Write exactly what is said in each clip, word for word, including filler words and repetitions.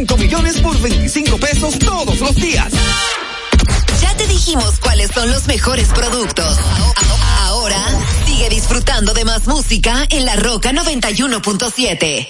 cinco millones por veinticinco pesos todos los días. Ya te dijimos cuáles son los mejores productos. Ahora sigue disfrutando de más música en La Roca noventa y uno punto siete.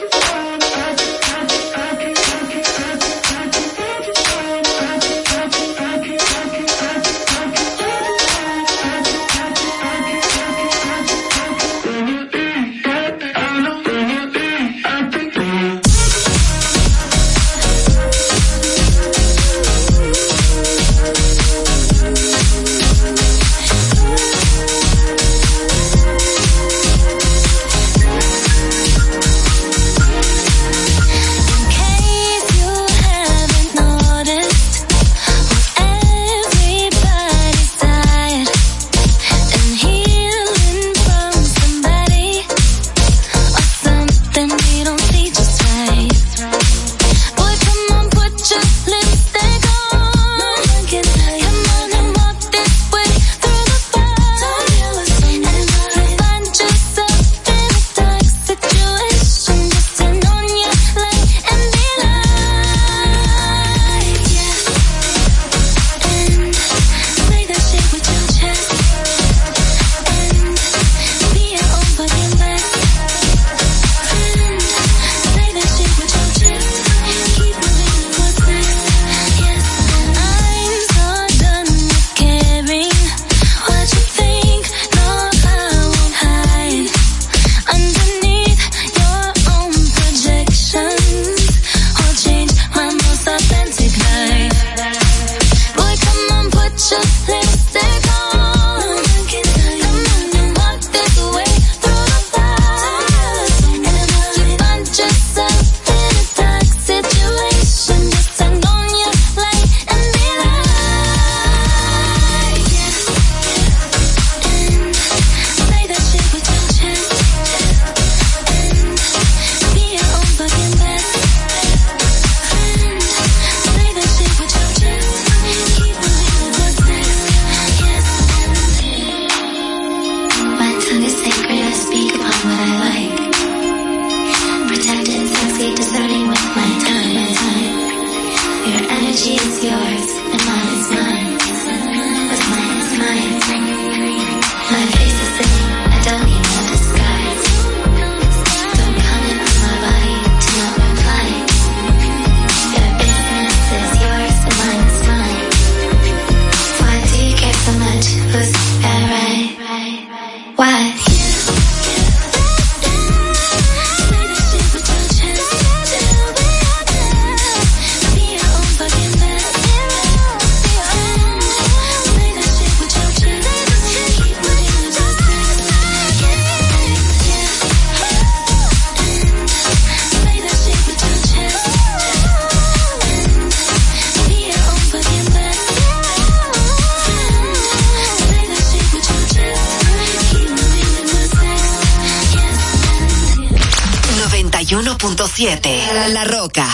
siete. La Roca.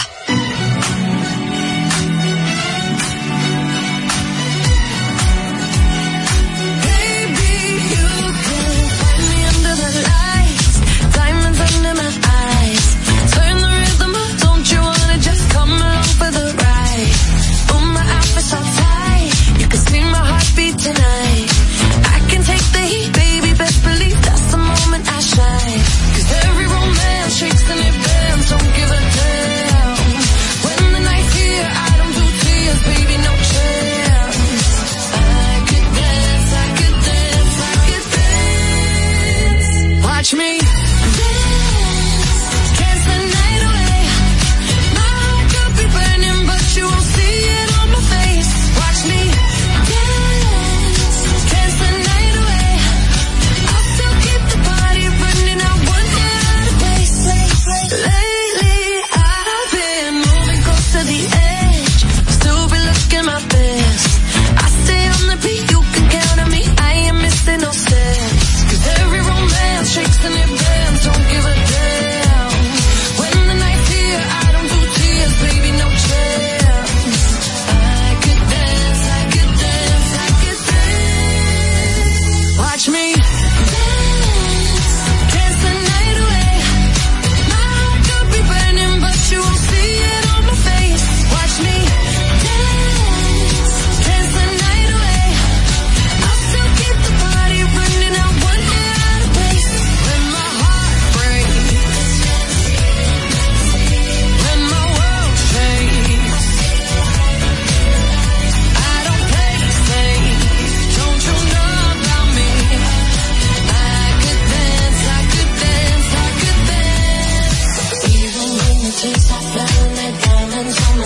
Shakes in advance, don't give a damn.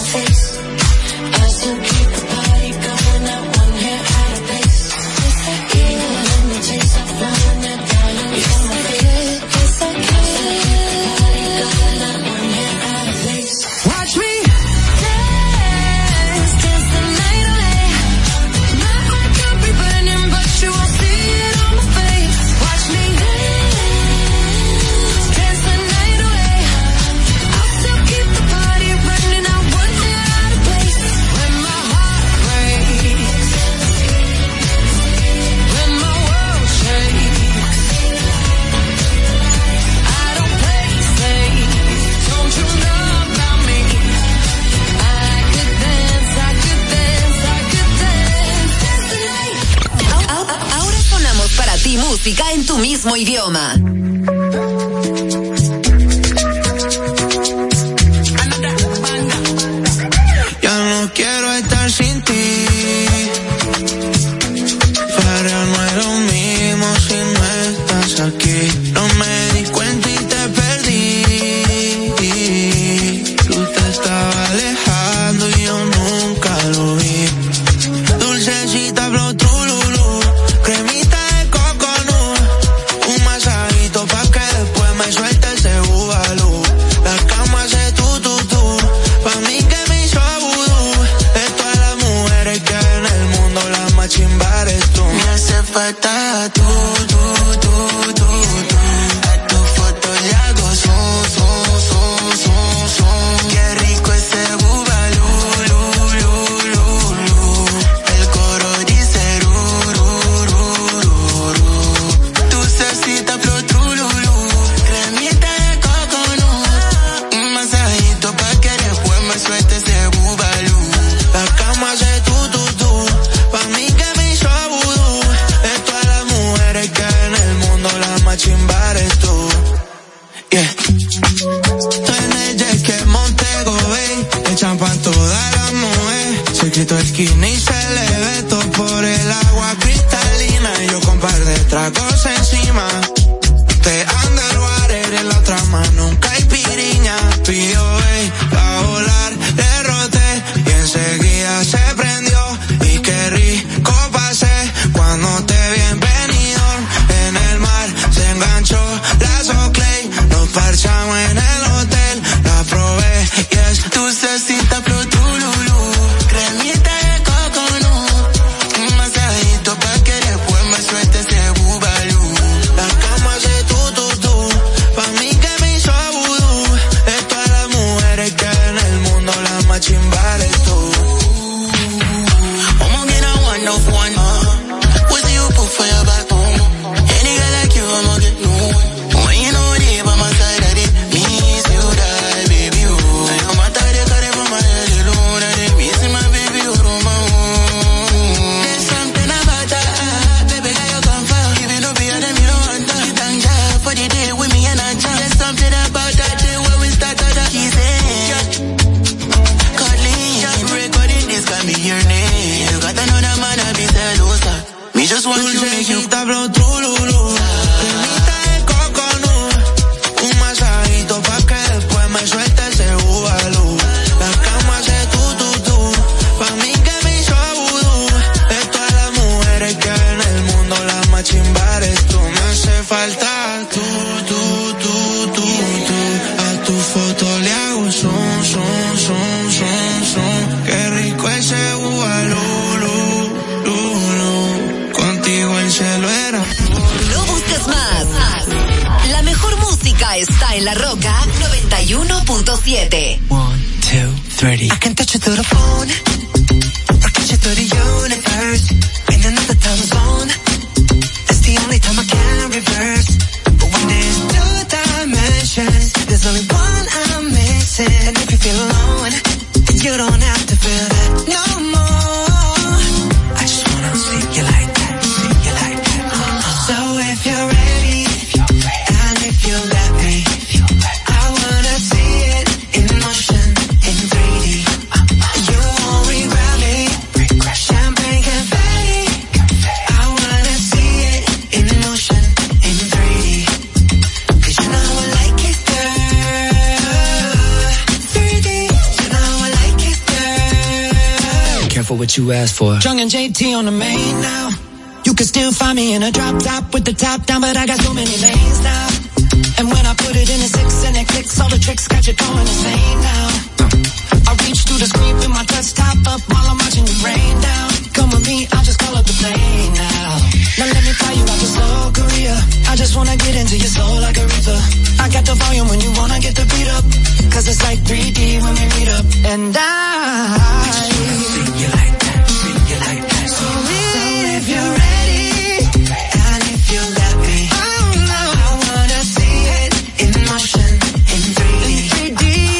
En tu mismo idioma. Ya no quiero estar sin ti, pero no es lo mismo si no estás aquí. No me di cuenta y te perdí. Tú te estabas alejando y yo nunca lo vi. Dulcecita flow trululú, cremita de coconut, un masajito pa' que después me suelte ese bubalú. La cama hace tu tu tu, pa' mí que me hizo vudú. De todas las mujeres que hay en el mundo, la más chimba eres tú. Me hace falta tú, tú, tú, tú, tú. A tu foto le hago zoom, zoom, zoom, zoom, zoom. Qué rico ese bubalú, lu, lu, lu, lu. El coro dice ru, ru, ru, ru, ru. Dulcecita flow trululú, cremita de coconut, un masajito pa' que después me suelte ese bubalú. La cama hace tu tu tu, pa' mí que me hizo vudú. De todas las mujeres que hay en el mundo, la más chimba eres tú. Yeah. En el jet que Montego Bay, el champán toda la mujer. Se quitó el skinny y se le ve todo por el agua cristalina. Y yo con par de tragos encima. Te underwater en la otra mano, nunca hay piriña. Pidió ey, pa' volar, le roté y enseguida se prendió. Y qué rico pasé cuando te vi en Benidorm. En el mar se enganchó la Soclay, nos parchamos en el hotel. La probé y es dulcecita flow trululú, cremita de coconut, un masajito pa' que después me suelte ese bubalú. La cama hace tu tu tu, pa' mí que me hizo vudú. De todas las mujeres que hay en el mundo, la más chimba eres tú. I'ma get a one of one. What do you put for your back? Any girl like you, I'ma get no. When you know they by my side, I did miss you, die, baby, oh. I am a tired of carry for my head alone. I did miss my baby, oh, my own. There's something about that, baby, girl, you come for. Even though be a them, you don't want that. You thank God for the day with me and I jump. There's something about that day when we start out the kissing. Cuddling, recording this can be your name. You got another man, I be celosa. Me just want to make you flow trululú, cremita de coconut, un masajito pa' que después me suelte ese bubalú. La cama hace tu tu tu, pa' mí que me hizo vudú. De todas las mujeres que hay en el mundo, la más chimba eres tú. Me hace falta tú, tú, tú, tú, tú. A tu foto le hago zoom, zoom, zoom, zoom, zoom. Qué rico ese bubalú, lu, lu, lu. Contigo el cielo era. No busques más. La mejor música está en La Roca noventa y uno punto siete. One, two, three. I can touch you through the phone, or catch you through the universe, in another time zone. That's the only time I can reverse. But when there's two dimensions, there's only one I'm missing. And if you feel alone, then you don't have to feel that no more. I just wanna see you like that, see you like that. So if you're ready, and if you let me, I wanna see it in motion, in three D. You won't regret me, champagne confetti. I wanna see it in motion, in three D. Cause you know I like it, girl. three D, you know I like it, for what you asked for. Young and J T on the main now. You can still find me in a drop top with the top down, but I got so many lanes now. And when I put it in a six and it clicks, all the tricks got you going insane now. I reach through the screen with my touch top up while I'm watching you rain down. Come with me, I'll just call up the plane now. Now let me fly you out to Seoul, Korea. I just wanna get into your soul like a reaper. I got the volume when you wanna get the beat up. Cause it's like three D when we meet up. And I, I just wanna see you like that, see you like that. So, so if you're ready, and if you let me, oh no, I wanna see it in motion, in three D. In three D.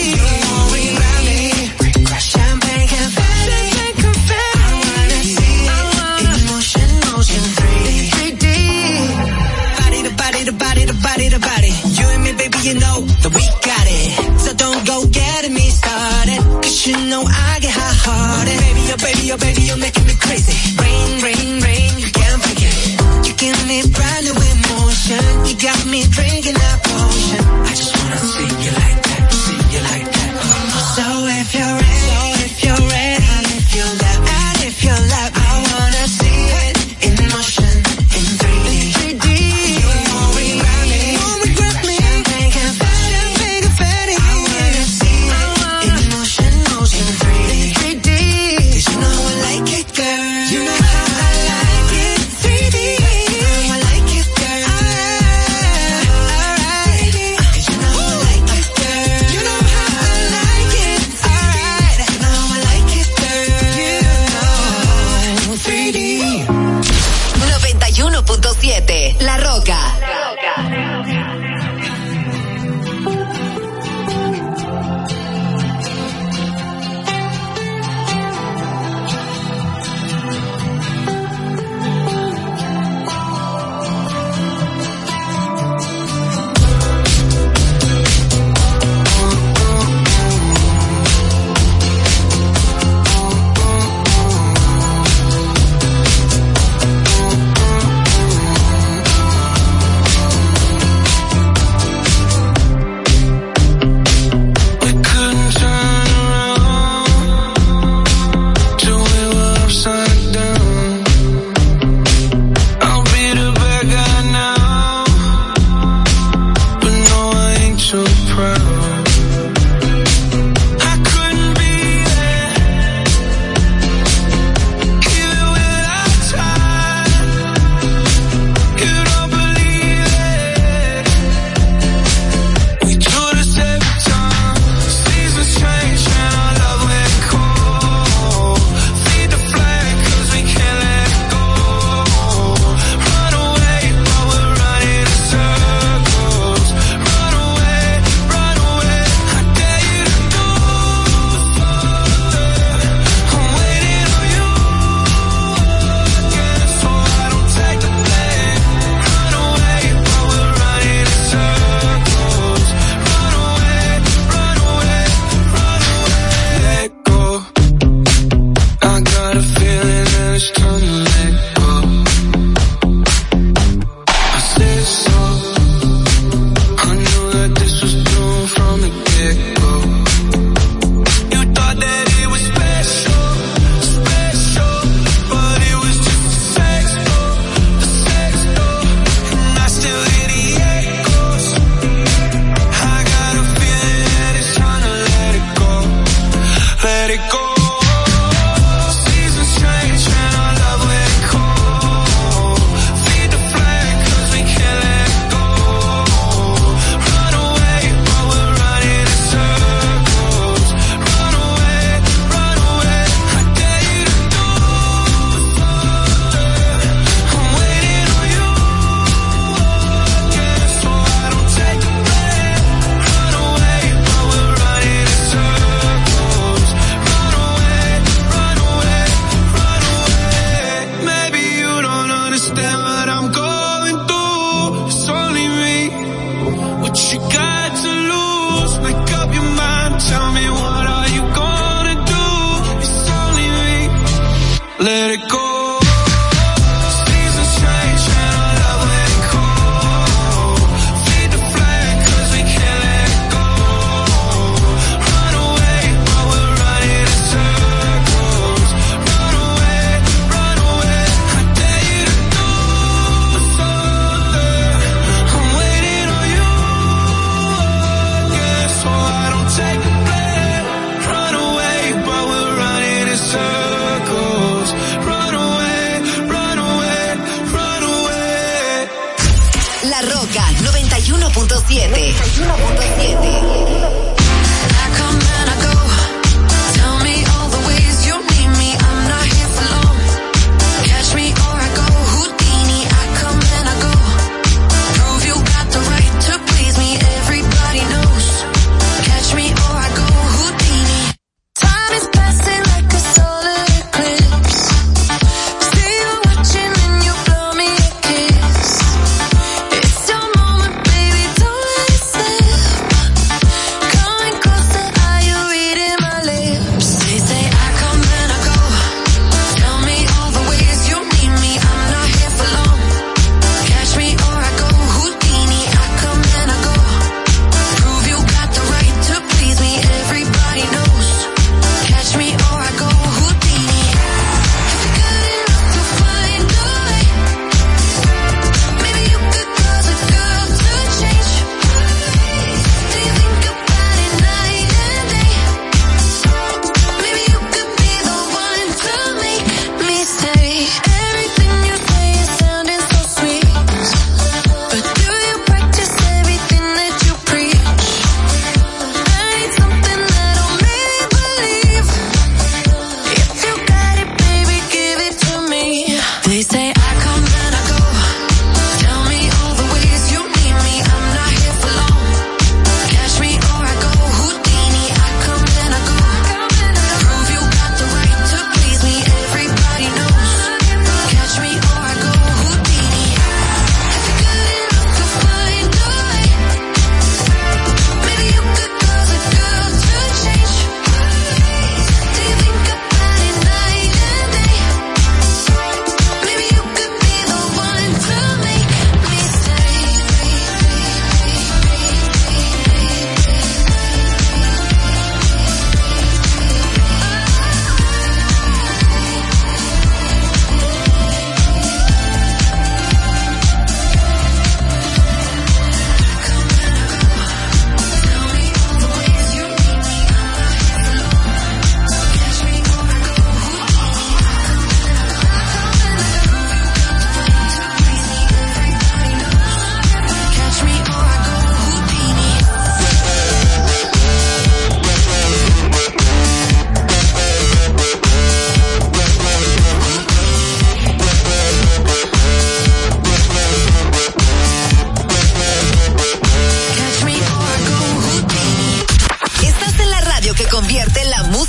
Champagne confetti, confetti. I wanna see it in motion, motion, three D. three D. Body to body to body to body to body. You and me, baby, you know that we got it. So don't go getting me started, cause you know I get hot-hearted. Baby, oh baby, oh baby, you're making me crazy. Rain, rain, rain, you can't break it. You give me brand new emotion. You got me drinking that potion. I just wanna see you like that, see you like that. So if you're ready, so if you're ready, and if you let me, and if you let me, I wanna see it in motion, in three D. In three D. You won't regret me, you won't regret me. Champagne confetti, champagne confetti. I wanna see it in motion, motion, three D. three D. Cause you know I like it, girl. You know how I like it, three D. You know I like it, girl. Alright, cause you know I like it, girl. You know how I like it, alright. You know I like it, girl. You know, three D. noventa y uno punto siete La Roca.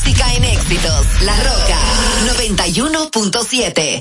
música en éxitos. La Roca noventa y uno punto siete.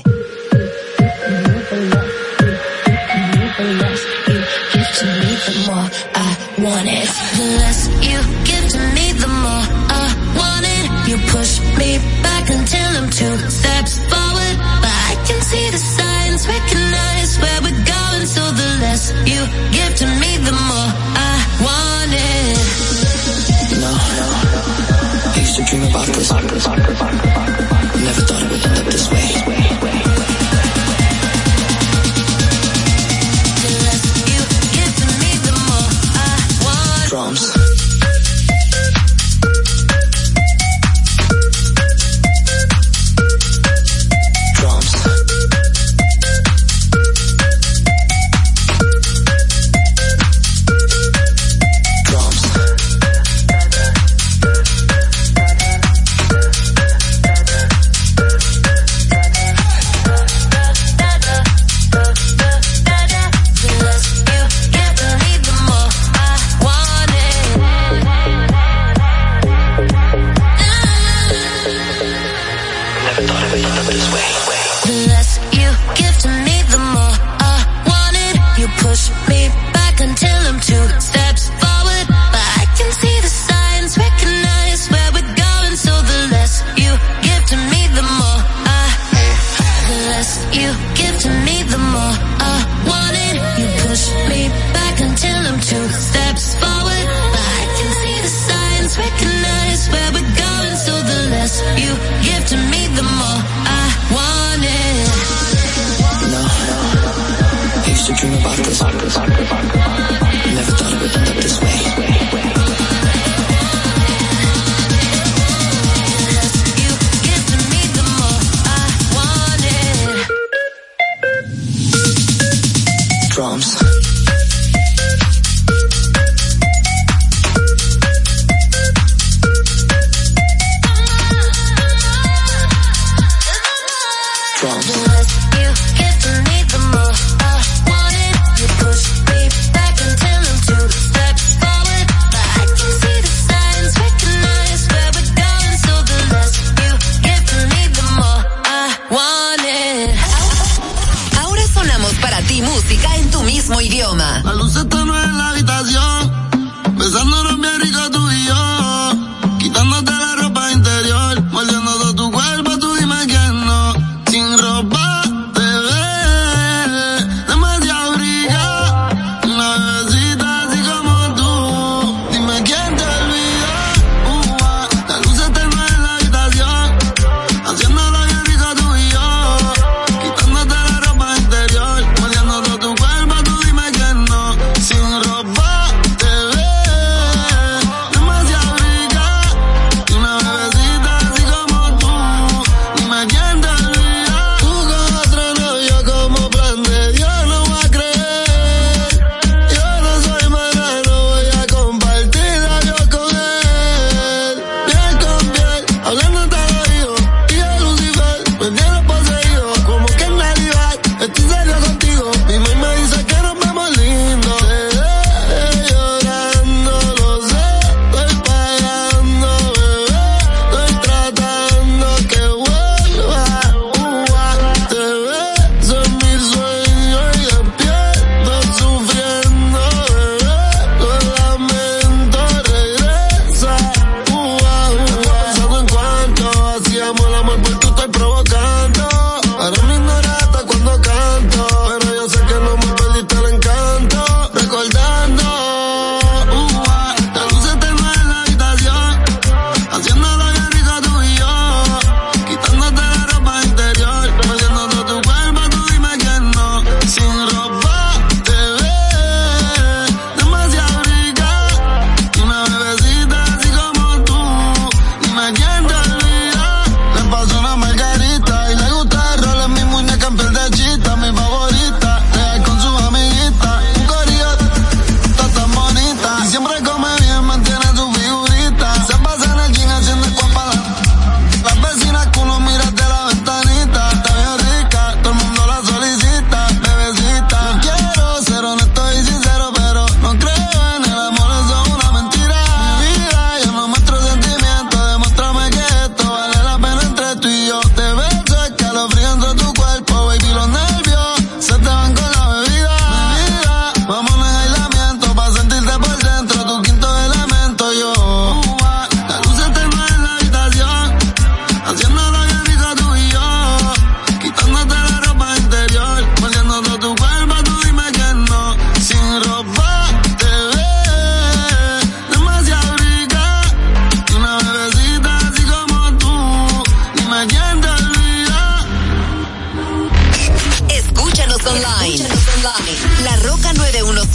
Want it. The less you give to me, the more I want it. You push me back until I'm two steps forward, but I can see the signs, recognize where we're going. So the less you give to me, the more I want it. No, no, I used to dream about this. Never thought it would end up this way. Drums. Drums. Drums. Recognize where we're going, so the less you give to me, the more I want.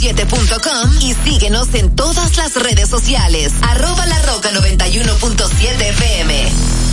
siete punto com y síguenos en todas las redes sociales. Arroba La Roca noventa y uno punto siete F M.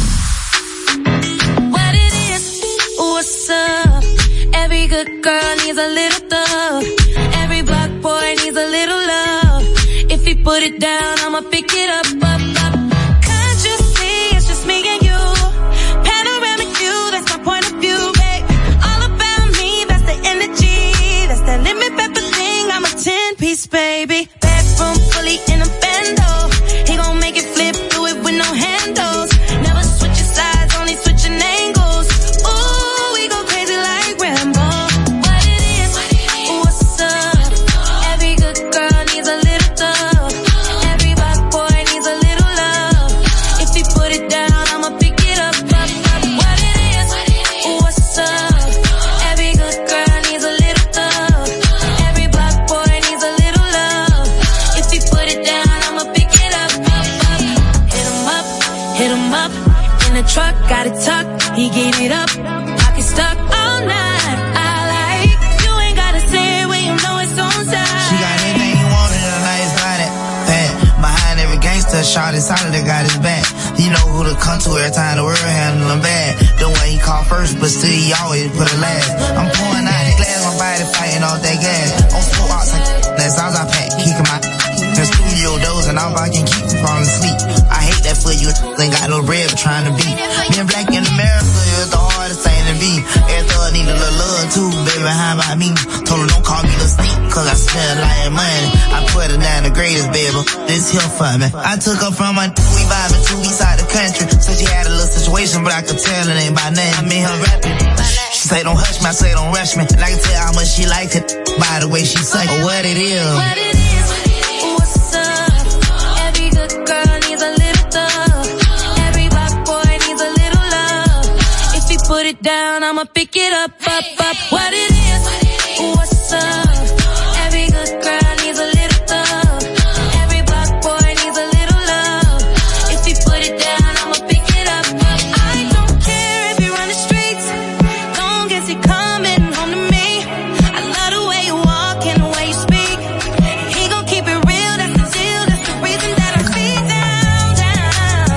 What it is, what's up? Every good girl needs a little thug. Every black boy needs a little love. If he put it down, I'ma pick it up, up, up. Can't you see it's just me and you? Panoramic view, that's my point of view, babe. All about me, that's the energy. That's that lemon pepper thing, I'm a ten-piece, baby. Bedroom fully in a bando. He gon' make it flip, do it with no handles. Never switching sides, only switching angles. Ooh, we go crazy like Rambo. What it is, what's up? Every good girl needs a little thug. Every black boy needs a little love. If he put it down, I'ma pick it up, up, up. What it is, what's up? Every good girl needs a little thug. Every black boy needs a little love. If he put it down, I'ma pick it up, up, up. Hit him up, hit him up. In the truck, got it tucked. He gave it up, pocket stuck all night. I like, you ain't gotta say it when you know it's on time. She got anything you want in a nice body. Fat. Behind every gangster, shot inside that got his back. You know who to come to every time the world handle him bad. The way he called first, but still he always put it last. I'm pouring out the glass, my body fighting off that gas. On four outs, like that's all I pack, kicking my the studio doors and all I can keep from falling asleep. I hate that for you, ain't got no bread, but trying to beat. Being black in America is the hardest thing to be. Every thug need a little love too, baby, how about me? Told her don't call me the sneak, cause I spend a lot of money. I put her down the greatest, baby, this here for me. I took her from my we vibing to east side of the country. So she had a little situation, but I could tell it ain't by nothing. I made her rapping. She say don't hush me, I say don't rush me. And I can tell how much she liked it by the way she say or what it is. What it is, what's up? Every good girl needs a little thug. Every black boy needs a little love. If he put it down, I'ma pick it up, up, up. What it is, what's up? Every good girl needs a little thug. Every black boy needs a little love. If he put it down, I'ma pick it up, up. I don't care if you run the streets, long as he coming home to me. I love the way you walk and the way you speak. He gon' keep it real, that's the deal, that's the reason that I be down, down.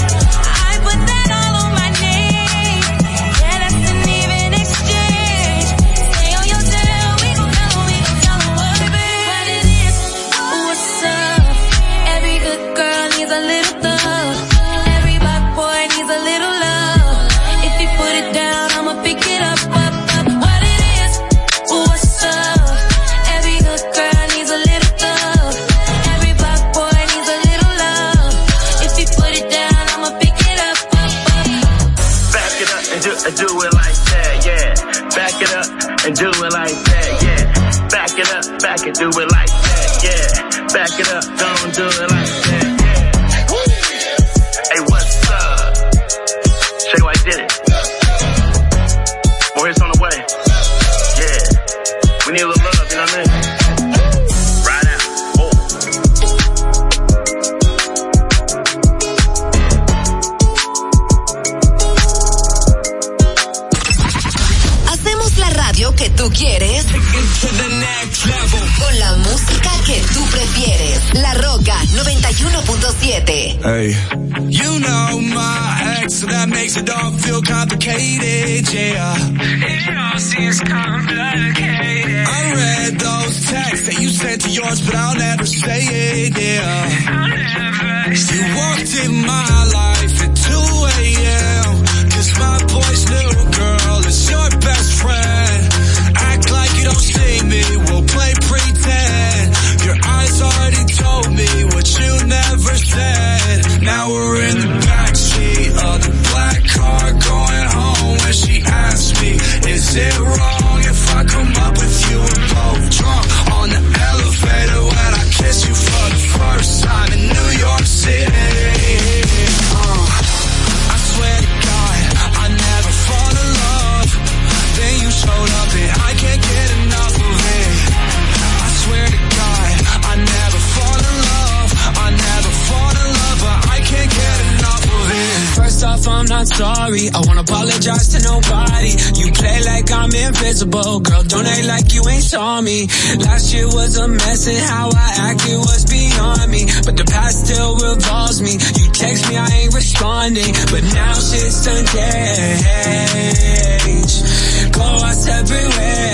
I put that all on my name. Yeah, that's an even exchange. Stay on your tail, we gon' tell him, we gon' tell him what it is. What it is, what's up? Every good girl needs a little thug. Every black boy needs a little love. If he put it down, I'ma pick it up, up, up. What it is, what's up? Every good girl needs a little thug. Every black boy needs a little love. If he put it down, I'ma pick it up, up, up. Back it up and do, and do it like that, yeah. Back it up and do it like that, yeah. Back it up, back and do it like that, yeah. Back it up, don't do it like that, yeah. Woo. Hey, what's up? Shay White did it. More hits on the way. Yeah. We need a little love, you know what I mean? Right out. Oh. Hacemos la radio que tú quieres con la música que tú prefieres. La Roca noventa y uno punto siete. Hey. You know my ex, so that makes it all feel complicated, yeah. It all seems complicated. I read those texts that you sent to yours, but I'll never say it, yeah. I'll never say you walked in my life at two a.m. Cause my boy's little girl is your best friend. Act like you don't see me, we'll play pretend. Your eyes already told me what you never said. Now we're in the backseat of the black car going home when she asked me, is it wrong if I come up with you and both drunk on the elevator when I kiss you for the first time in New York City? Uh, if I'm not sorry. I won't apologize to nobody. You play like I'm invisible, girl, don't act like you ain't saw me. Last year was a mess and how I acted was beyond me, but the past still revolves me. You text me, I ain't responding, but now shit's turned gauge. Go our separate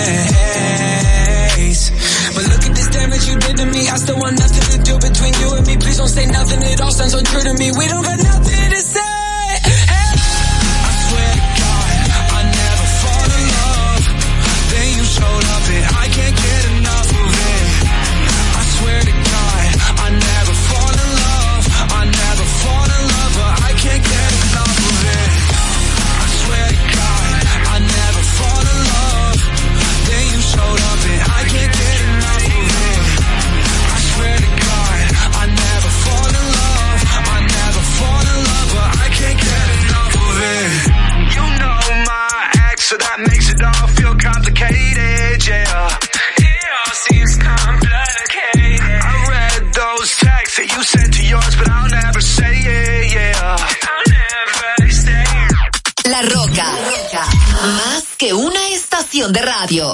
ways. But look at this damage you did to me. I still want nothing to do between you and me. Please don't say nothing, it all sounds untrue to me. We don't got nothing to say. Hey. I swear to God, I never fall in love. Then you showed up and I can't get enough of it. I swear to God, I never fall in love. I never fall in love, but I can't get enough of it. I swear to God, I never fall in love. Then you showed up and I can't get enough of it. I swear to God, I never fall in love. I never fall in love, but I can't get enough of it. You know my ex, so that makes it all feel complicated, yeah. It all seems complicated. I read those texts that you sent to yours, but I'll never say it, yeah. I'll never say it. La Roca, más que una estación de radio.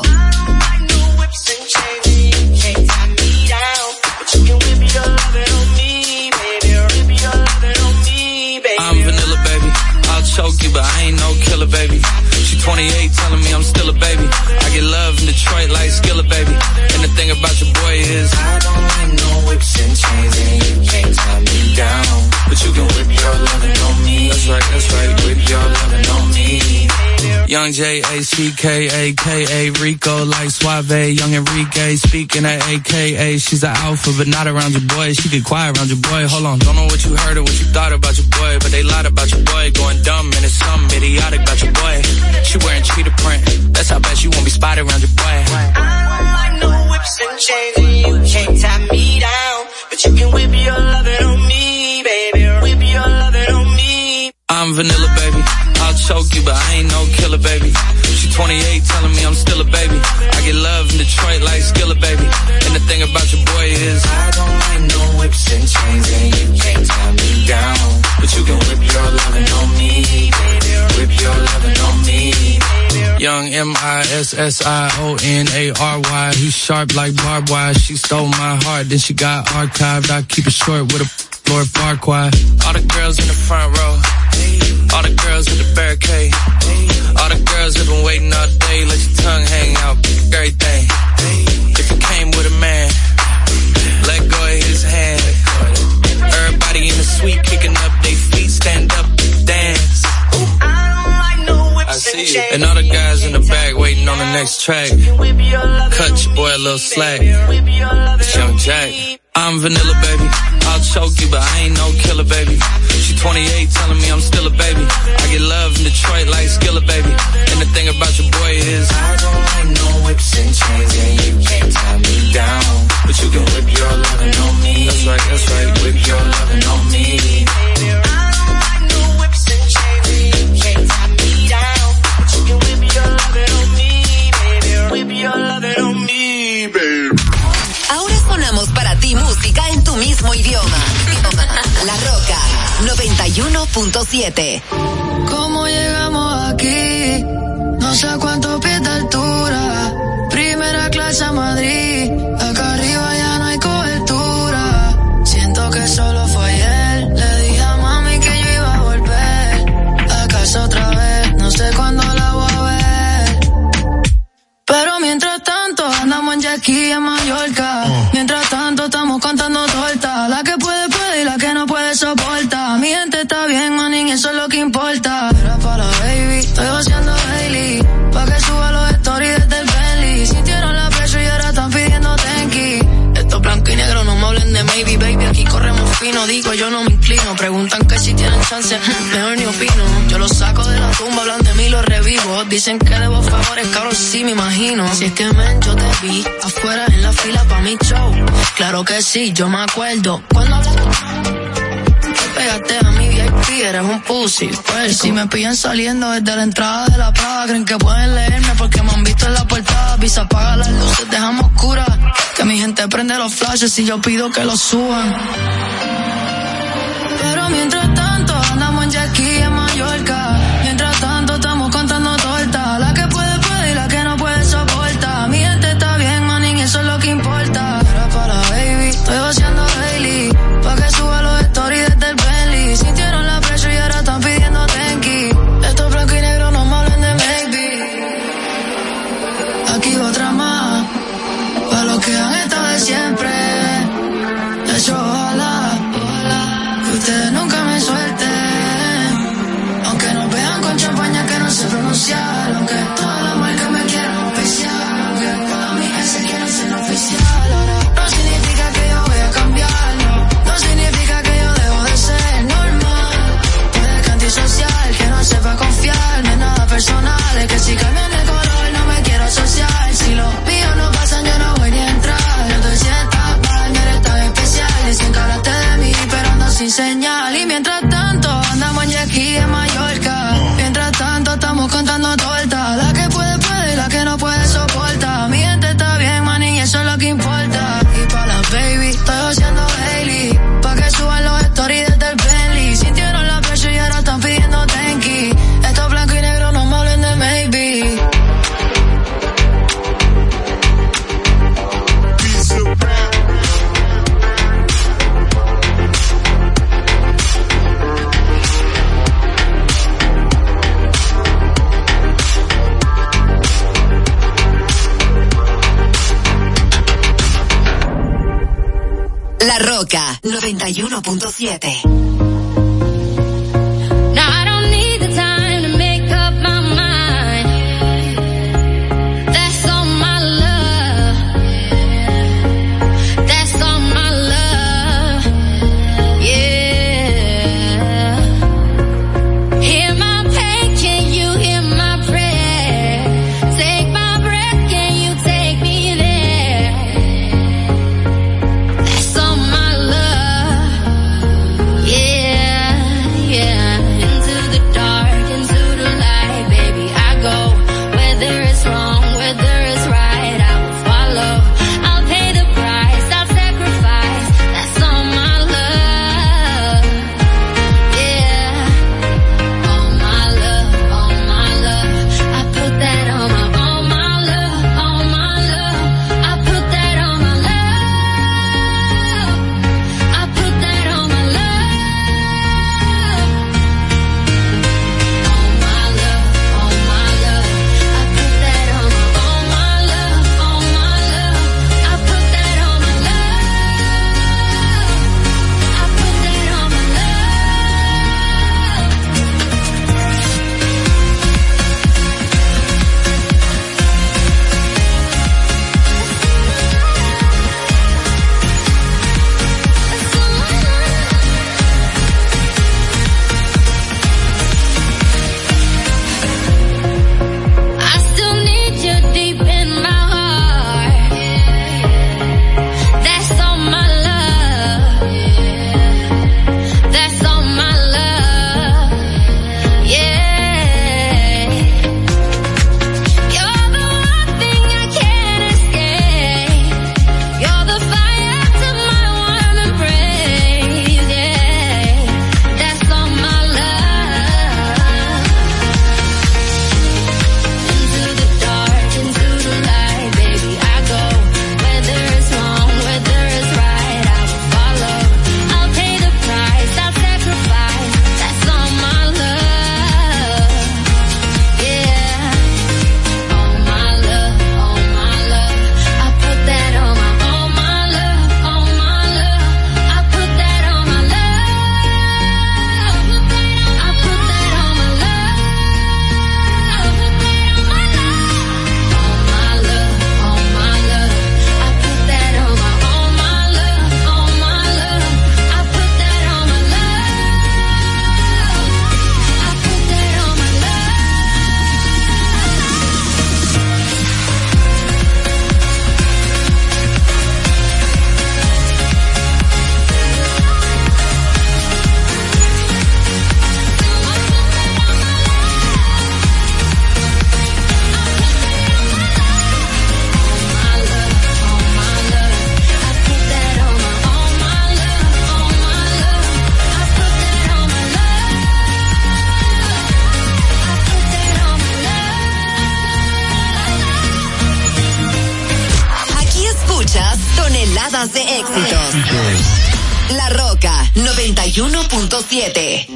I'm vanilla, baby. I'll choke you, but I ain't no killer, baby. She twenty-eight, telling me I'm still a baby. I get love in Detroit like Skillet, baby. And the thing about your boy is I don't like no whips and chains, and you can't tie me down. But you can whip your lovin' on me. That's right, that's right, whip your lovin' on me. Young J A C K A K A Rico like Suave, young Enrique speaking at A K A. She's an alpha, but not around your boy. She get quiet around your boy. Hold on, don't know what you heard or what you thought about your boy, but they lied about your boy. Going dumb and it's something idiotic about your boy. She wearing cheetah print. That's how bad she won't be spotted around your boy. I don't like no whips and chains, and you can't tie me down. But you can whip your lovin' on me, baby. Whip your lovin' on me. I'm vanilla, baby. I'll choke you, but I ain't no killer, baby. She twenty-eight, telling me I'm still a baby. I get love in Detroit like Skillet, baby. And the thing about your boy is I don't like no whips and chains, and you can't tie me down. But you can whip your lovin' on me, baby. Whip your lovin' on me. Young M I S S I O N A R Y. He's sharp like barbed wire. She stole my heart, then she got archived. I keep it short with a Lord Farquaad. All the girls in the front row. All the girls with the barricade. All the girls have been waiting all day. Let your tongue hang out, everything. If you came with a man, let go of his hand. Everybody in the suite kicking up their feet, stand up, dance. I see you. And all the guys in the back waiting on the next track. Cut your boy a little slack. It's Young Jack. I'm vanilla, baby. I'll choke you, but I ain't no killer, baby. She twenty-eight, telling me I'm still a baby. I get love in Detroit like Skillet, baby. And the thing about your boy is I don't like no whips and chains, and you can't tie me down. But you can whip your lovin' on me. That's right, that's right, whip your lovin' on me. I don't like no whips and chains, and you can't tie me down. But you can whip your lovin' on me, baby. Whip your lovin' on me, baby. Ahora sonamos para ti música en tu mismo idioma. La Roca noventa y uno punto siete. ¿Cómo llegamos aquí? No sé a cuántos pies de altura. Primera clase a Madrid. Acá arriba ya no hay cobertura. Siento que solo fue ayer. Le dije a mami que yo iba a volver. A casa otra vez. No sé cuándo la voy a ver. Pero mientras tanto andamos en jet ski en Mallorca. Oh. Mientras tanto estamos contando tortas. La que puede puede y la que no puede soporta. Mi gente está bien, manín, eso es lo que importa. Era para la baby, estoy haciendo daily. Pa' que suba los stories desde el Bentley. Sintieron la presión y ahora están pidiendo tenki. Estos blancos y negros no me hablen de maybe, baby. Aquí corremos fino, digo yo no me inclino. Preguntan que si tienen chance, mejor ni opino. Yo los saco de la tumba, hablan de mí, los revivo. Dicen que debo favores, cabrón, sí me imagino. Si es que men, yo te vi afuera en la fila pa' mi show. Claro que sí, yo me acuerdo. Cuando hablaste, pegaste a mi V I P, eres un pussy. Pues si me pillan saliendo desde la entrada de la Prada, creen que pueden leerme porque me han visto en la portada. Visa, apaga las luces, dejamos oscuras. Que mi gente prende los flashes y yo pido que los suban. Pero mientras tanto andamos en jet ski en Mallorca. no sepa confiarme, nada personal. Es que si cambian de color no me quiero asociar. Si los míos no pasan yo no voy ni a entrar. Entonces si estás mal, no eres tan especial. Dicen que hablaste de mí pero ando sin señal. Y mientras tanto andamos en jet ski en Mallorca. Mientras tanto estamos contando torta. La que puede puede y la que no puede soporta. Mi gente está bien, man, y eso es lo que importa. Y pa' las baby estoy haciendo Hailey, pa' que suban los stories desde el Bentley. Sintieron la presión y ahora están pidiendo tenki. Esto blanco y negro no me hablen de maybe. La Roca noventa y uno punto siete. Toneladas de éxitos. La Roca noventa y uno punto siete.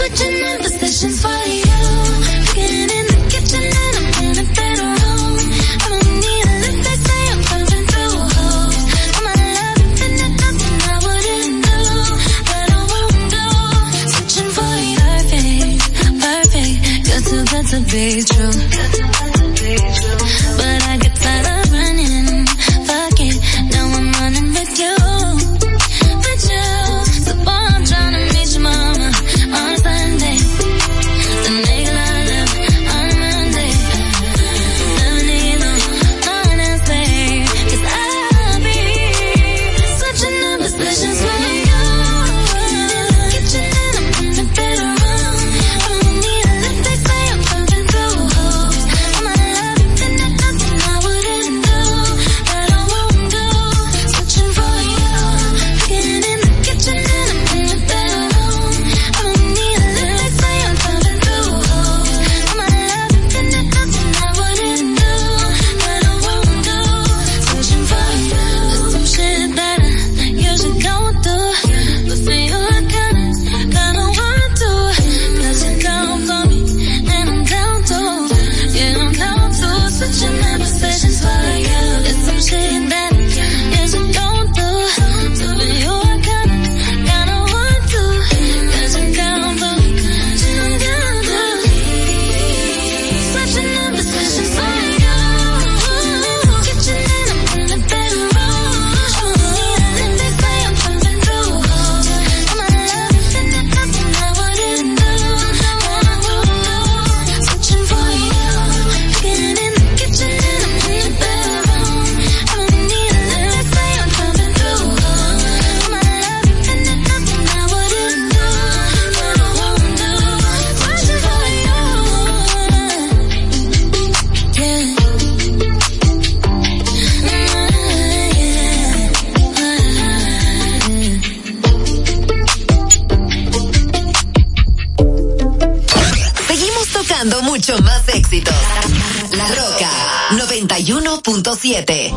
For you, getting in the kitchen and I'm in a better room. be true. But I get tired of running. Fuck it, now I'm running with you. With you. So boy, I'm trying to meet your mama on Sunday. The nigga I love on Monday. Never need no one else, babe. Cause I'll be switching up positions with you. Kitchen and I'm in the bedroom. I don't need a lift, they say I'm pumping through holes. I'm out of love, then there's nothing I wouldn't do, that I won't do. Switching for you. Getting in the kitchen and I'm in the bedroom. I don't need a lift, they say I'm pumping through holes. I'm out of love, then there's nothing I wouldn't do, that I won't do. Switching for you. There's some shit that I usually don't do, but for you I kinda, kinda want to. Cause you're down for me, and I'm down to. Yeah, I'm down to. Switching my positions for you. There's some shit that I usually don't do, so for you I kinda, kinda want to. Cause you're down for me, and I'm down to. Switching my positions for you. Kitchen and I'm in the bedroom. And they say I'm pumping through holes. I'm out of love, then there's nothing I wouldn't do, that I won't do. Switching for you. Getting in the kitchen and I'm in the bedroom. I don't need a lift, they say I'm pumping through holes. I'm out of love, then there's nothing I wouldn't do, that I won't do. Switching for you. Seguimos tocando mucho más éxitos. La Roca noventa y uno punto siete.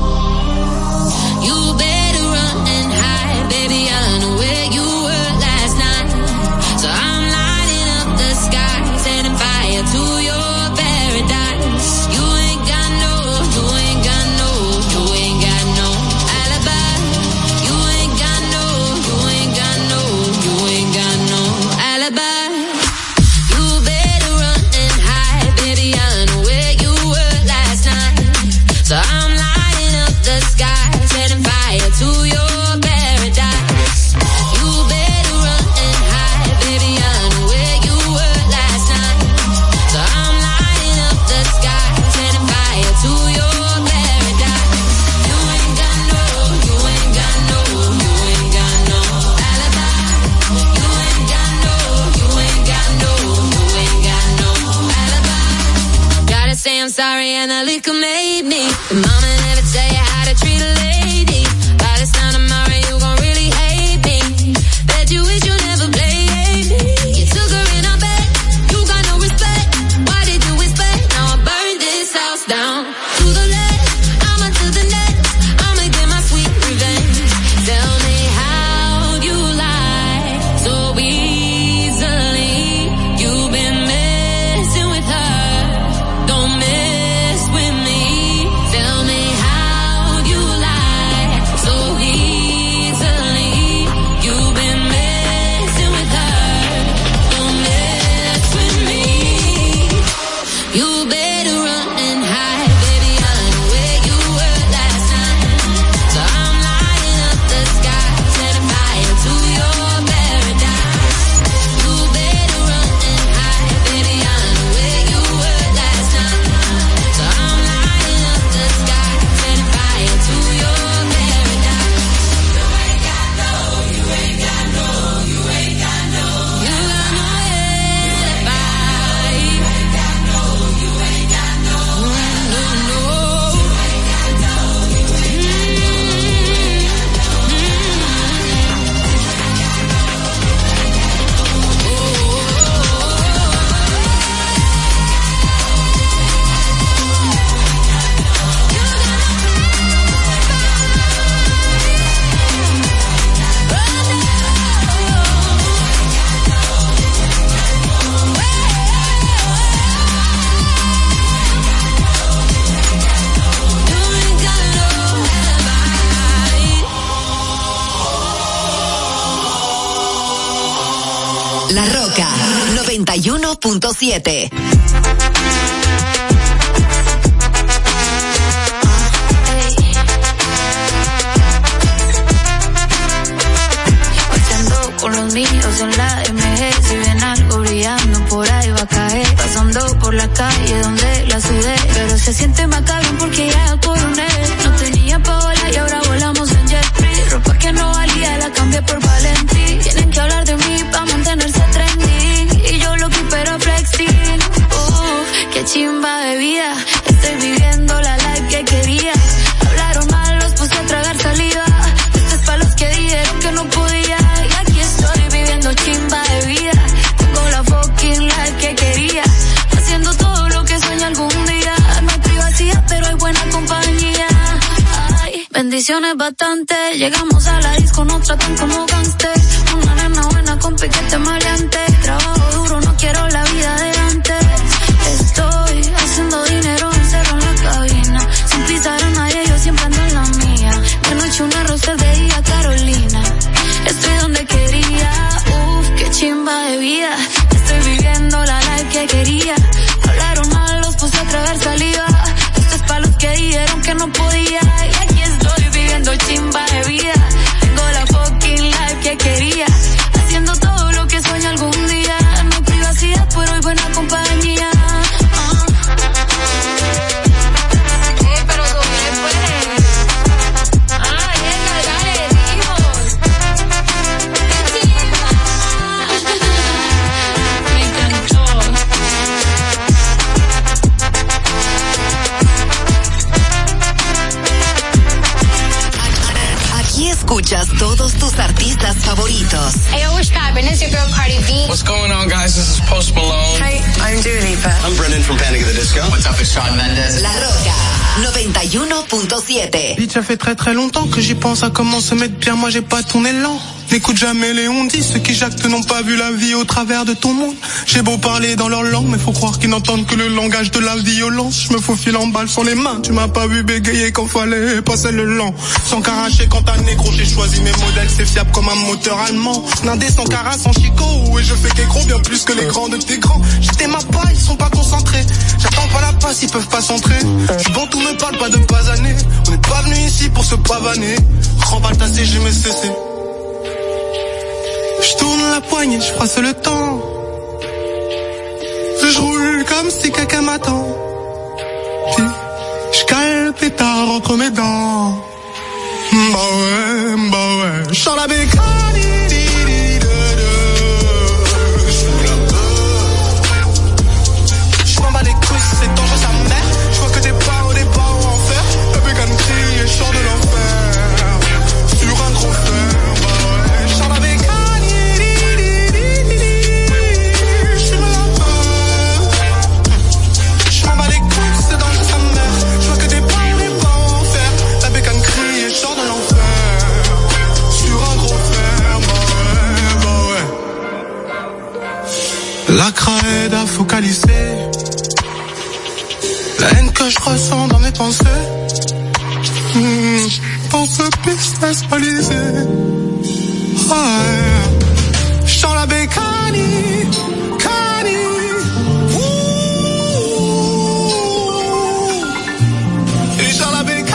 You better run and hide, baby, I know where you were last night. So I'm lighting up the sky, setting fire to your paradise. You ain't got no, you ain't got no, you ain't got no alibi. You ain't got no, you ain't got no, you ain't got no alibi. You better run and hide, baby, I know where you were last night. So I'm lighting up the sky, setting fire to your paradise. You better run and hide, baby, I know where you were last night. So I'm lighting up the sky, setting fire to your paradise. You ain't got no, you ain't got no, you ain't got no alibi. You ain't got no, you ain't got no, you ain't got no alibi. Gotta say I'm sorry and the liquor made me. The mama never tell you how to treat a lady. By this time tomorrow you gon' really hate me. Bet you wish you never played me. You took her in a bed, you got no respect. Why did you expect? Now I burned this house down to the left, I'ma to the next. I'ma get my sweet revenge. Tell me how you lie so easily. You've been messing with her, don't mess with me. Tell me how you lie so easily. You've been messing with her, don't mess with me. You better run and hide, baby, I know where you were last night. So I'm lighting up the sky, setting fire to your paradise. You better run and hide, baby, I know where you were last night. So I'm lighting up the sky, setting fire to your paradise. You ain't got no, you ain't got no, you ain't got no, you got no alibi. You ain't got no, you ain't got no, no, no. You ain't got no, you ain't La Roca noventa y uno punto siete. bendiciones bastante. Llegamos a la disco, nos tratan como gangster. Una nena buena con piquete maleante. Trabajo duro, no quiero la vida de antes. Estoy haciendo dinero, encerro en la cabina. Sin pisar a nadie, yo siempre ando en la mía. De noche una rosa, de día Carolina. Estoy donde quería, uff, qué chimba de vida. Estoy viviendo la life que quería. Hablaron mal, los puse a tragar saliva. Esto es pa' los que dijeron que no podía. Y aquí estoy viviendo chimba de vida. Tengo la fucking life que quería. Haciendo todo lo que sueño algún día. No hay privacidad, pero hay buena compañía. Escuchas todos tus artistas favoritos. Hey, what's poppin'? It's your girl Cardi B. What's going on, guys? This is Post Malone. Hi, I'm Dua Lipa. I'm Brendan from Panic! At the Disco. What's up, it's Shawn Mendes. La Roca noventa y uno punto siete. Bitch, ça fait très très longtemps que j'y pense à comment se mettre bien. Moi j'ai pas ton élan. N'écoute jamais les on-dit, ceux qui jactent n'ont pas vu la vie au travers de ton monde. J'ai beau parler dans leur langue, mais faut croire qu'ils n'entendent que le langage de la violence. Je me faufile en balle sur les mains, tu m'as pas vu bégayer quand fallait passer le lent. Sans caracher quand t'as négro, j'ai choisi mes modèles, c'est fiable comme un moteur allemand. Nindé sans cara, sans chicot, et je fais qu'écro bien plus que les grands de tes grands. J'étais ma pas, ils sont pas concentrés. J'attends pas la passe, ils peuvent pas s'entrer. Du bon tout me parle pas de basaner. On n'est pas venu ici pour se pavaner. Remballe ta C G, mais cessé. Je tourne la poignée, je froisse le temps. Je roule comme si quelqu'un m'attend. Puis je cale le pétard entre mes dents. Bah ouais, bah ouais. Je sors la bécane. Je m'en bats les couilles, c'est dangereux sa mère. Je vois que des barreaux, des barreaux en fer. La bécane crie et je sors de l'enfer. Sur un gros fer, bah ouais. Je sors la bécane. La craie à focaliser la haine que je ressens dans mes pensées. Mmh, pour ce business balisé. Ouais. Je sens la bécane, cani. Et je sens la bécane.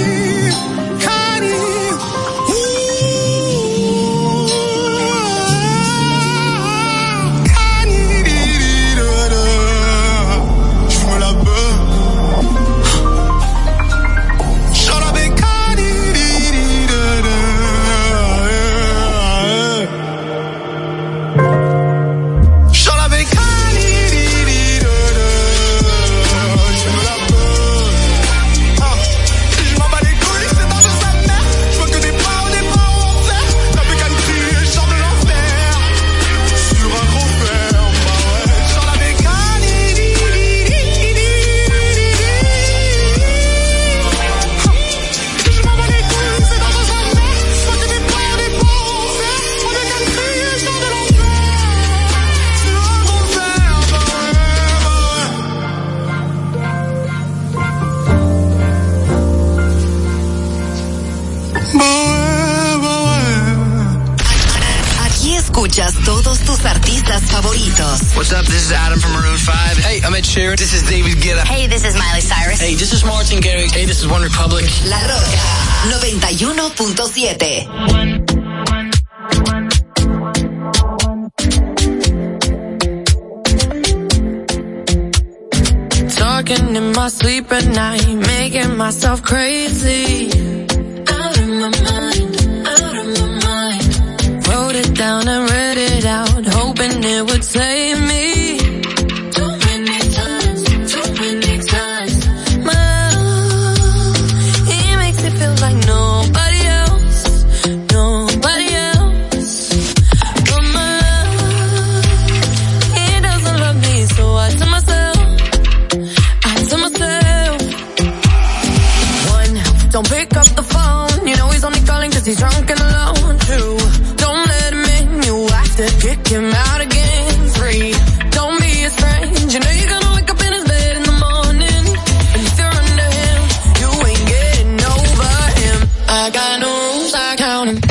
Escuchas todos tus artistas favoritos. What's up? This is Adam from Maroon five. Hey, I'm Ed Sheeran. This is David Guetta. Hey, this is Miley Cyrus. Hey, this is Martin Garrix. Hey, this is One Republic. La Roca noventa y uno punto siete. Talking in my sleep at night, making myself crazy. Out of my mind, out of my mind. Wrote it down and read it out, hoping it would save me. Too many times, too many times. My love, he makes it feel like nobody else, nobody else. But my love, he doesn't love me, so I tell myself, I tell myself. One, don't pick up the phone. You know he's only calling cause he's drunk and alone. Two, don't let him in, you have to kick him out again. Three, don't be his friend. You know you're gonna wake up in his bed in the morning. And if you're under him, you ain't getting over him. I got no rules, I count him.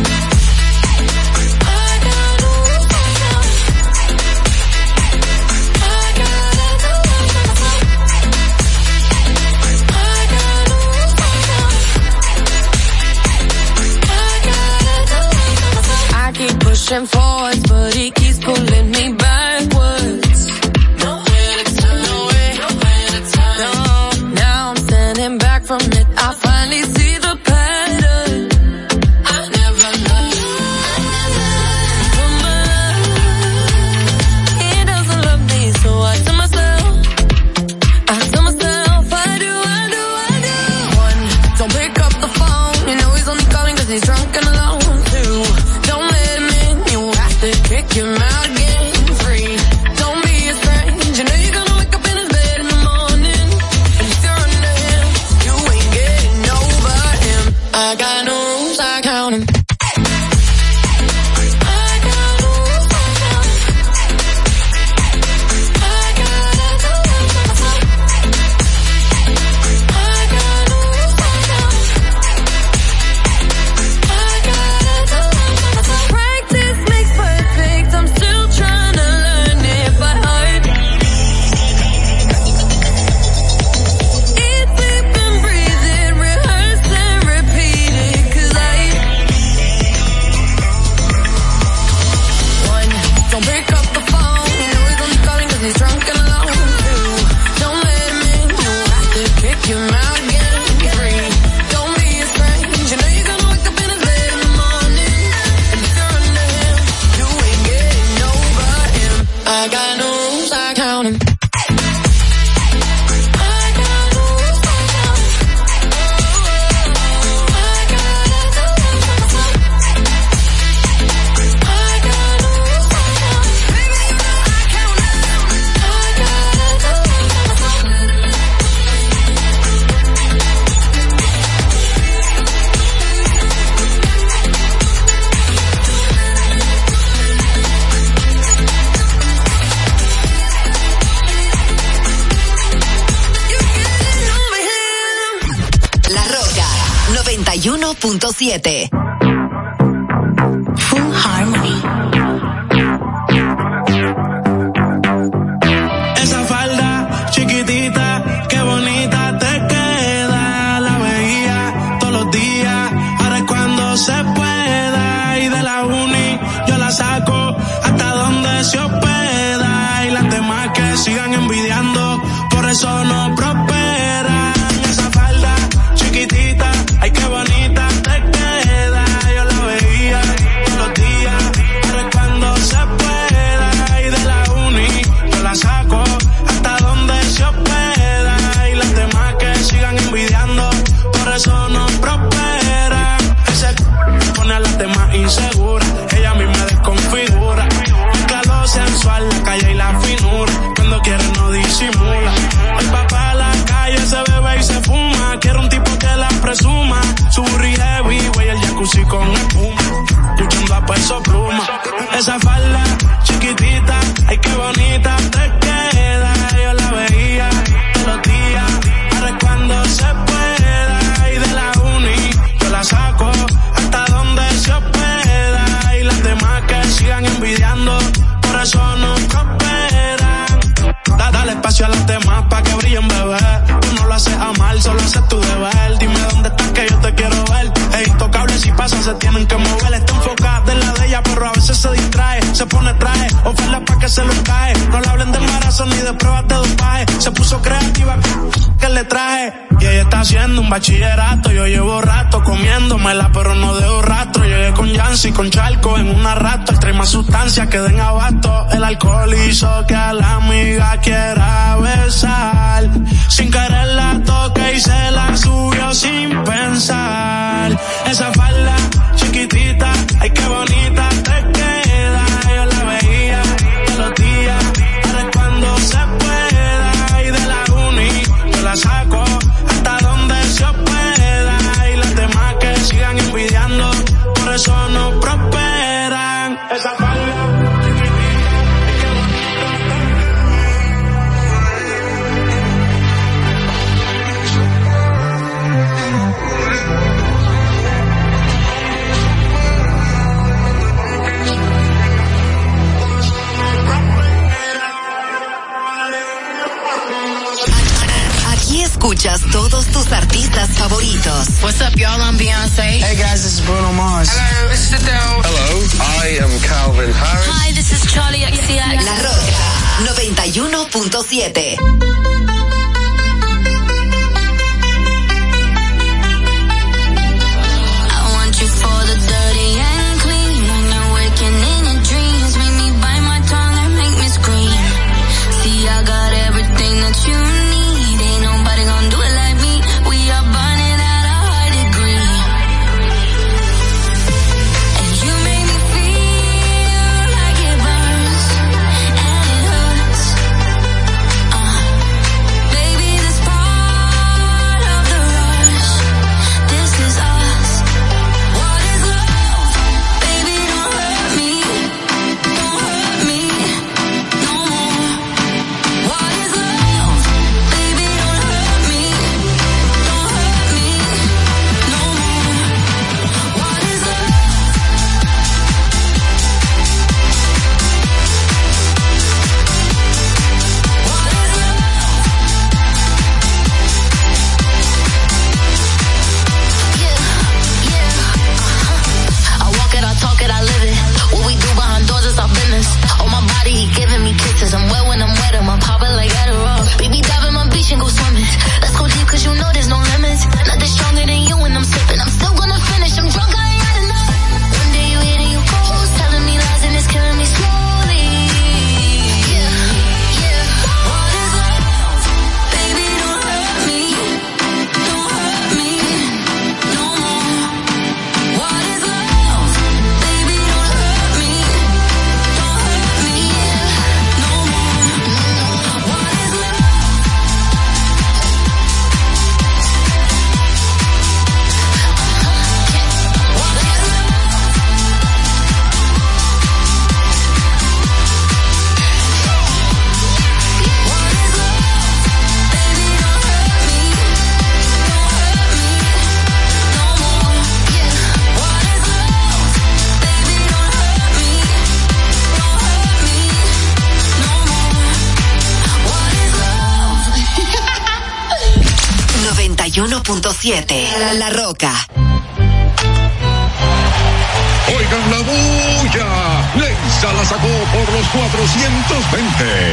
Pushing forwards, but he keeps pulling me backwards. Nowhere to turn, nowhere, nowhere to turn. No, now I'm standing back from it. I finally see the pattern. I never loved. He doesn't love me, so I tell myself, I tell myself, I do, I do, I do. One, don't pick up the phone. You know he's only calling cause he's drunk and alone. Two, don't let him in. Kick him out again. Three, don't be his friend. You know you're gonna wake up in his bed in the morning. And if you're under him, you ain't getting over him. I got no rules, I count him. uno punto siete. Full Harmony. Esa falda chiquitita, qué bonita te queda. La veía todos los días, ahora es cuando se pueda. Y de la uni yo la saco hasta donde se hospeda. Y las demás que sigan envidiando, por eso no prosperan. Esa falda chiquitita, ay qué bonita te queda. Yo la veía todos los días, ahora es cuando se pueda. Y de la uni yo la saco hasta donde se hospeda. Y las demás que sigan envidiando, por eso no prosperan. Ese c pone a las demás inseguras, ella a mí me desconfigura. Mezcla lo sensual, la calle y la finura, cuando quiere no disimula. El papá a la calle se bebe y se fuma, quiere un tipo que la presuma. Su burri heavy, güey, el jacuzzi con espuma, escuchando a Peso Pluma. Esa falda chiquitita, ay qué bonita te queda. Yo la veía todos los días, ahora es cuando se pueda. Y de la uni yo la saco hasta donde se hospeda. Y las demás que sigan envidiando, por eso no prosperan. Da, dale espacio a las demás pa' que brillen, bebé. Tú no lo haces a mal, solo haces tu deber. Dime dónde estás que yo te quiero ver. Es intocable, si pasa se tienen que mover. Está enfocada en la de ella, pero a veces se distrae. Se pone traje, oferta pa' que se lo cae. No le hablen de embarazo ni de pruebas de dopaje. Se puso creativa, que le traje. Y ella está haciendo un bachillerato. Yo llevo rato comiéndomela, pero no dejo rastro. Llegué con Yancy, con Charco en una rato. Trae más sustancias que den abasto. El alcohol hizo que a la amiga quiera besar. Sin querer la toque y se la subió sin pensar. Esa falda chiquitita, ay qué bonita te queda. Yo la veía todos los días, ahora es cuando se pueda. Y de la uni yo la saco hasta donde se hospeda. Hey guys, this is Bruno Mars. Hello, this is Adele. Hello, I am Calvin Harris. Hi, this is Charlie X C X. La Roca noventa y uno punto siete. uno punto siete. La Roca. Oigan la bulla. Leisa la sacó por los cuatrocientos veinte.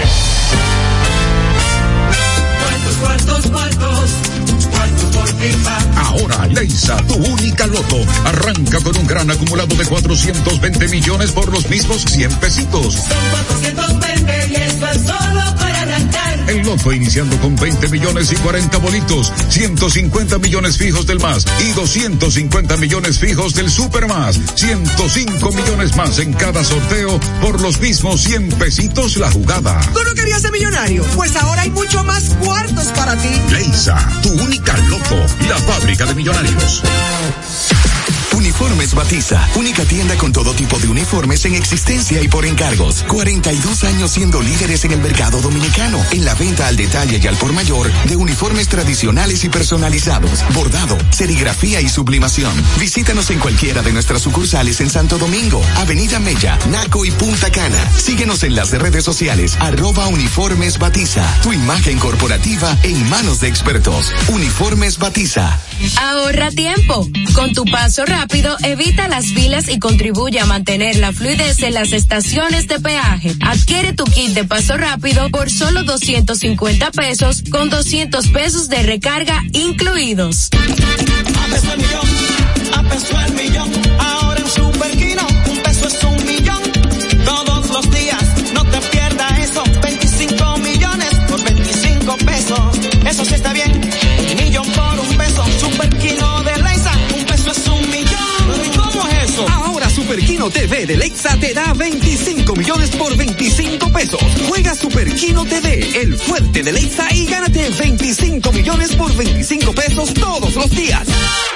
¿Cuántos, cuántos, cuántos? ¿Cuántos por FIFA? Ahora, Leisa, tu única loto, arranca con un gran acumulado de cuatrocientos veinte millones por los mismos cien pesitos. Son cuatrocientos veinte y esto es solo para arrancar. El loto iniciando con veinte millones y cuarenta bolitos, ciento cincuenta millones fijos del más y doscientos cincuenta millones fijos del super más, ciento cinco millones más en cada sorteo por los mismos cien pesitos la jugada. ¿Tú no querías ser millonario? Pues ahora hay mucho más cuartos para ti. Leisa, tu única loto, la fábrica de millonarios. Uniformes Batiza, única tienda con todo tipo de uniformes en existencia y por encargos. cuarenta y dos años siendo líderes en el mercado dominicano, en la venta al detalle y al por mayor de uniformes tradicionales y personalizados, bordado, serigrafía y sublimación. Visítanos en cualquiera de nuestras sucursales en Santo Domingo, Avenida Mella, Naco y Punta Cana. Síguenos en las redes sociales, arroba Uniformes Batiza. Tu imagen corporativa en manos de expertos. Uniformes Batiza. Ahorra tiempo. Con tu paso rápido, evita las filas y contribuye a mantener la fluidez en las estaciones de peaje. Adquiere tu kit de paso rápido por solo doscientos cincuenta pesos con doscientos pesos de recarga incluidos. A peso el millón, a peso el millón. Ahora en Superquino, un peso es un millón. Todos los días, no te pierdas eso. veinticinco millones por veinticinco pesos. Eso sí está bien. Un millón por un peso. Superquino de Leisa, un peso es un millón. ¿Y cómo es eso? Ahora Superquino T V de Lexa te da veinticinco millones por veinticinco pesos. Juega Superquino T V, el fuerte de Lexa, y gánate veinticinco millones por veinticinco pesos todos los días.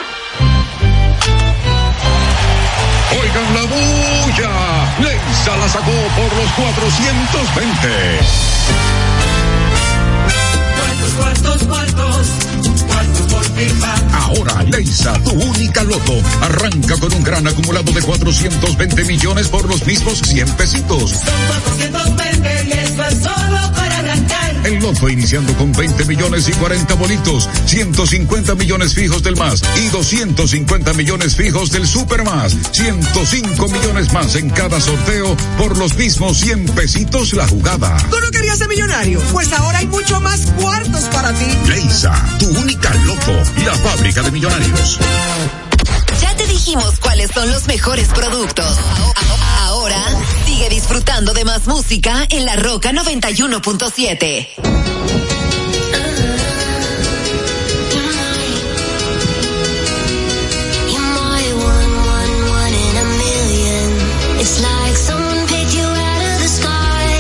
Oigan la bulla. Leisa la sacó por los cuatrocientos veinte. ¿Cuántos, cuántos, cuántos? ¿Cuántos por FIFA? Ahora, Leisa, tu única loto, arranca con un gran acumulado de cuatrocientos veinte millones por los mismos cien pesitos. Son cuatrocientos veinte y esto es solo para arrancar. El loto iniciando con veinte millones y cuarenta bolitos, ciento cincuenta millones fijos del más y doscientos cincuenta millones fijos del super más, ciento cinco millones más en cada sorteo por los mismos cien pesitos la jugada. ¿Tú no querías ser millonario? Pues ahora hay mucho más cuartos para ti. Leisa, tu única loto, la fábrica de millonarios. Ya te dijimos cuáles son los mejores productos. Ahora sigue disfrutando de más música en La Roca noventa y uno punto siete. It's like someone picked you out of the sky.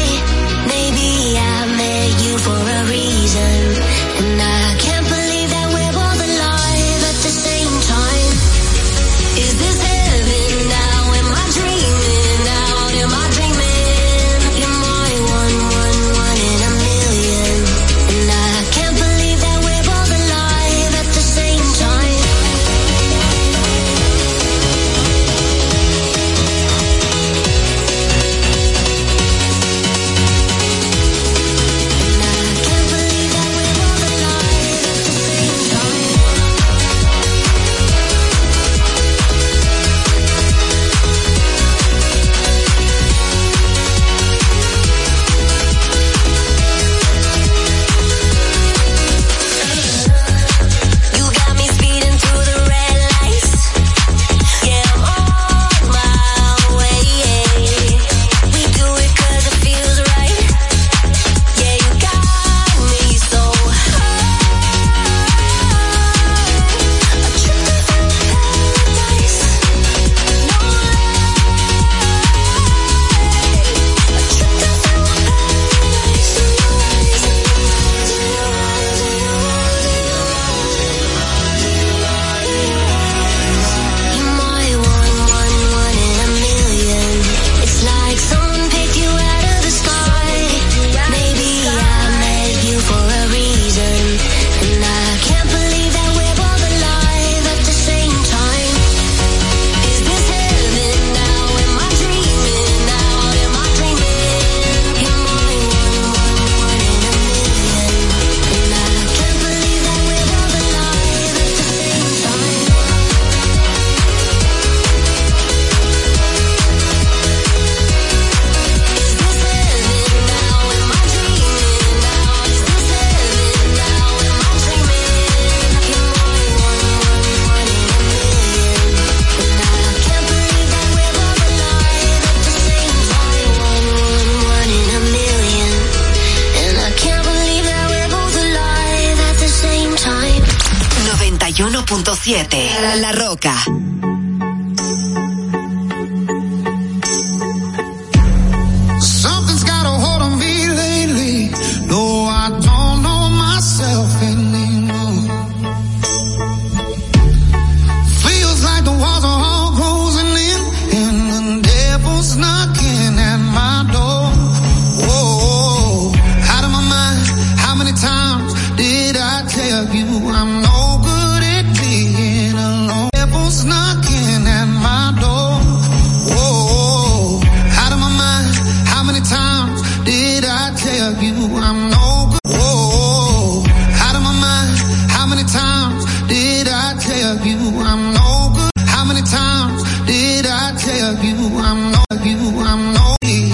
Maybe I met you for a reason, and I can't believe that we're both alive at the same time. Is this heaven now? Am I dreaming out? Am I dreaming? You're my one, one, one in a million, and I can't believe that we're both alive at the same time. noventa y uno punto siete La Roca.